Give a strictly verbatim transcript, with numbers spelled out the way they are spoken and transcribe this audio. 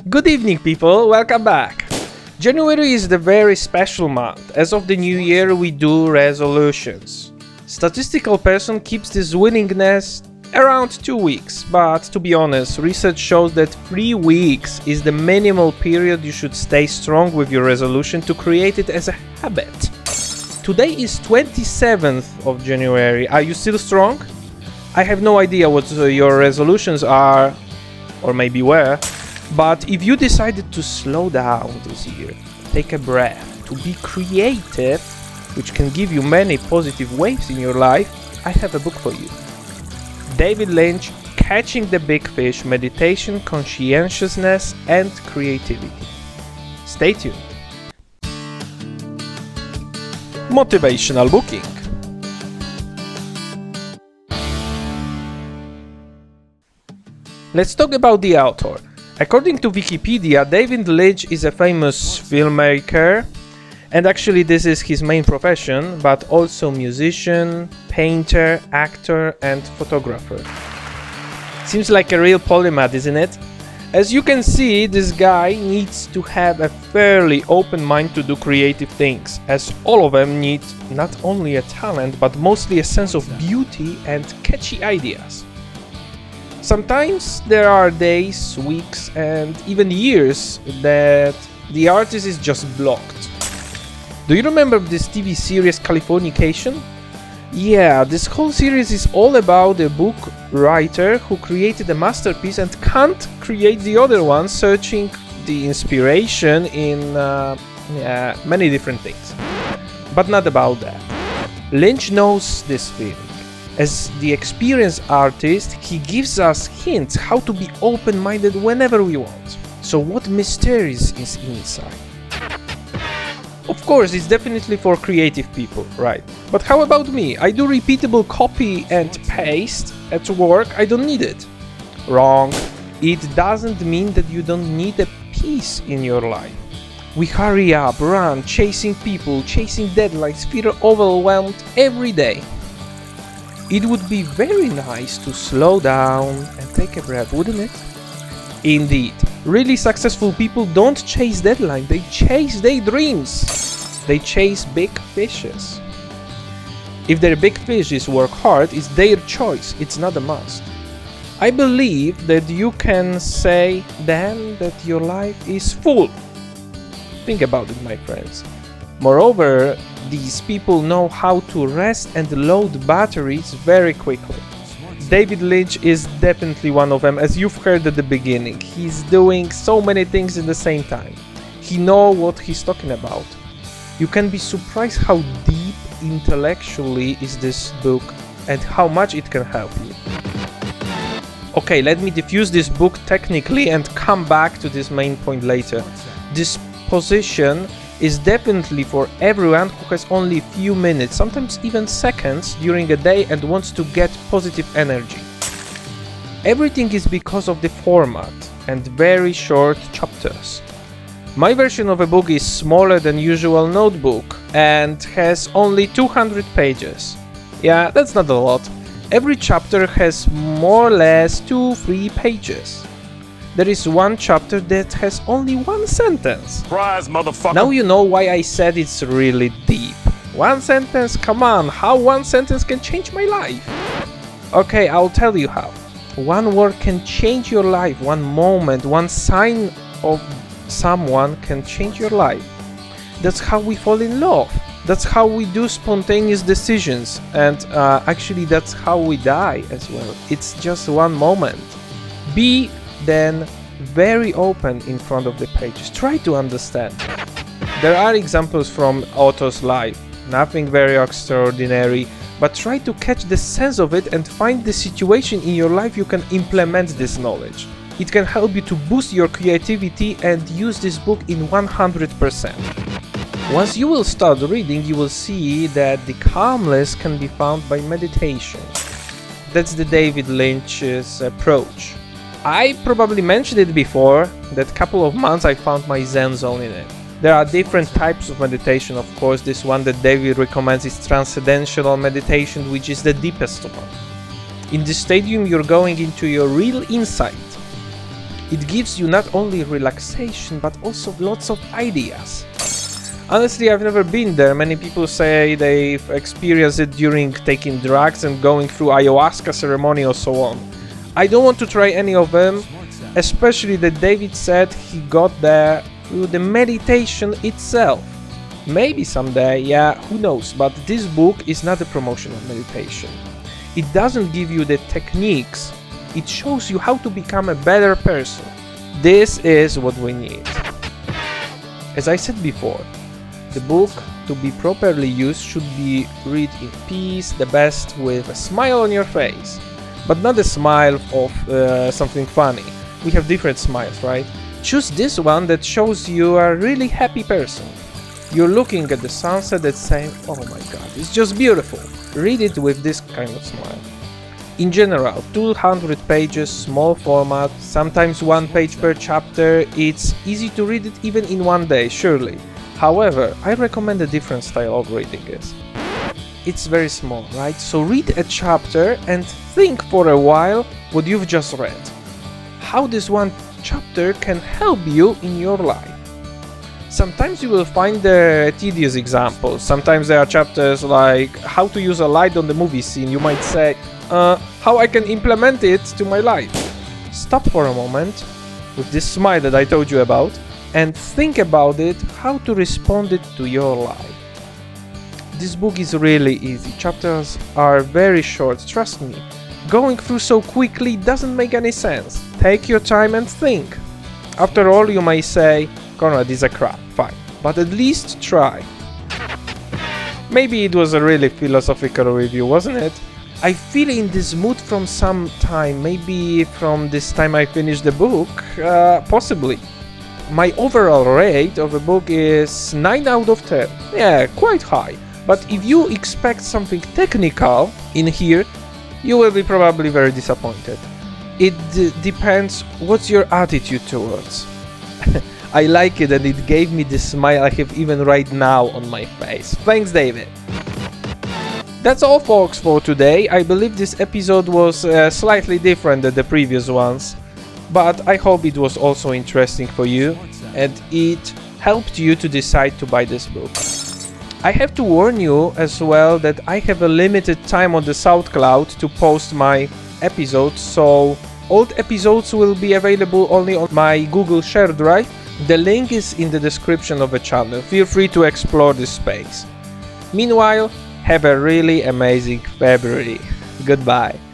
Good evening, people, welcome back. January is the very special month. As of the new year, we do resolutions. Statistical person keeps this willingness around two weeks, but to be honest, research shows that three weeks is the minimal period you should stay strong with your resolution to create it as a habit. Today is twenty-seventh of January. Are you still strong? I have no idea what uh, your resolutions are, or maybe were, but if you decided to slow down this year, take a breath, to be creative, which can give you many positive waves in your life, I have a book for you. David Lynch, Catching the Big Fish, Meditation, Conscientiousness and Creativity. Stay tuned. Motivational booking. Let's talk about the author. According to Wikipedia, David Lynch is a famous filmmaker, and actually this is his main profession, but also musician, painter, actor and photographer. Seems like a real polymath, isn't it? As you can see, this guy needs to have a fairly open mind to do creative things, as all of them need not only a talent, but mostly a sense of beauty and catchy ideas. Sometimes there are days, weeks and even years that the artist is just blocked. Do you remember this T V series Californication? Yeah, this whole series is all about a book writer who created a masterpiece and can't create the other one, searching the inspiration in uh, yeah, many different things. But not about that. Lynch knows this feeling. As the experienced artist, he gives us hints how to be open-minded whenever we want. So what mysteries is inside? Of course, it's definitely for creative people, right? But how about me? I do repeatable copy and paste at work, I don't need it. Wrong. It doesn't mean that you don't need a peace in your life. We hurry up, run, chasing people, chasing deadlines, feel overwhelmed every day. It would be very nice to slow down and take a breath, wouldn't it? Indeed, really successful people don't chase deadlines, they chase their dreams. They chase big fishes. If their big fishes work hard, it's their choice, it's not a must. I believe that you can say then that your life is full. Think about it, my friends. Moreover, these people know how to rest and load batteries very quickly. David Lynch is definitely one of them, as you've heard at the beginning. He's doing so many things at the same time. He knows what he's talking about. You can be surprised how deep intellectually is this book and how much it can help you. Okay, let me diffuse this book technically and come back to this main point later. This position is definitely for everyone who has only a few minutes, sometimes even seconds during a day and wants to get positive energy. Everything is because of the format and very short chapters. My version of a book is smaller than usual notebook and has only two hundred pages. Yeah, that's not a lot. Every chapter has more or less two to three pages. There is one chapter that has only one sentence. Surprise, motherfucker! Now you know why I said it's really deep. One sentence? Come on, how one sentence can change my life? Okay, I'll tell you how. One word can change your life, one moment, one sign of someone can change your life. That's how we fall in love. That's how we do spontaneous decisions. And uh, actually that's how we die as well. It's just one moment. Be then very open in front of the pages. Try to understand. There are examples from author's life, nothing very extraordinary, but try to catch the sense of it and find the situation in your life you can implement this knowledge. It can help you to boost your creativity and use this book in one hundred percent. Once you will start reading, you will see that the calmness can be found by meditation. That's the David Lynch's approach. I probably mentioned it before, that couple of months I found my Zen zone in it. There are different types of meditation, of course. This one that David recommends is transcendental meditation, which is the deepest one. In this stadium you're going into your real insight. It gives you not only relaxation but also lots of ideas. Honestly, I've never been there. Many people say they've experienced it during taking drugs and going through ayahuasca ceremony or so on. I don't want to try any of them, especially that David said he got there through the meditation itself. Maybe someday, yeah, who knows, but this book is not a promotion of meditation. It doesn't give you the techniques, it shows you how to become a better person. This is what we need. As I said before, the book, to be properly used, should be read in peace, the best with a smile on your face. But not a smile of uh, something funny. We have different smiles, right? Choose this one that shows you are a really happy person. You're looking at the sunset and saying, oh my god, it's just beautiful. Read it with this kind of smile. In general, two hundred pages, small format, sometimes one page per chapter. It's easy to read it even in one day, surely. However, I recommend a different style of reading it. It's very small, right? So read a chapter and think for a while what you've just read. How this one chapter can help you in your life. Sometimes you will find the tedious examples. Sometimes there are chapters like how to use a light on the movie scene. You might say, uh, how I can implement it to my life. Stop for a moment with this smile that I told you about and think about it, how to respond it to your life. This book is really easy. Chapters are very short, trust me. Going through so quickly doesn't make any sense. Take your time and think. After all, you may say, Konrad is a crap, fine, but at least try. Maybe it was a really philosophical review, wasn't it? I feel in this mood from some time, maybe from this time I finished the book, uh, possibly. My overall rate of the book is nine out of ten. Yeah, quite high. But if you expect something technical in here, you will be probably very disappointed. It d- depends what's your attitude towards. I like it and it gave me the smile I have even right now on my face. Thanks, David. That's all, folks, for today. I believe this episode was uh, slightly different than the previous ones, but I hope it was also interesting for you and it helped you to decide to buy this book. I have to warn you as well that I have a limited time on the SoundCloud to post my episodes, so old episodes will be available only on my Google Share Drive. The link is in the description of the channel. Feel free to explore this space. Meanwhile, have a really amazing February. Goodbye.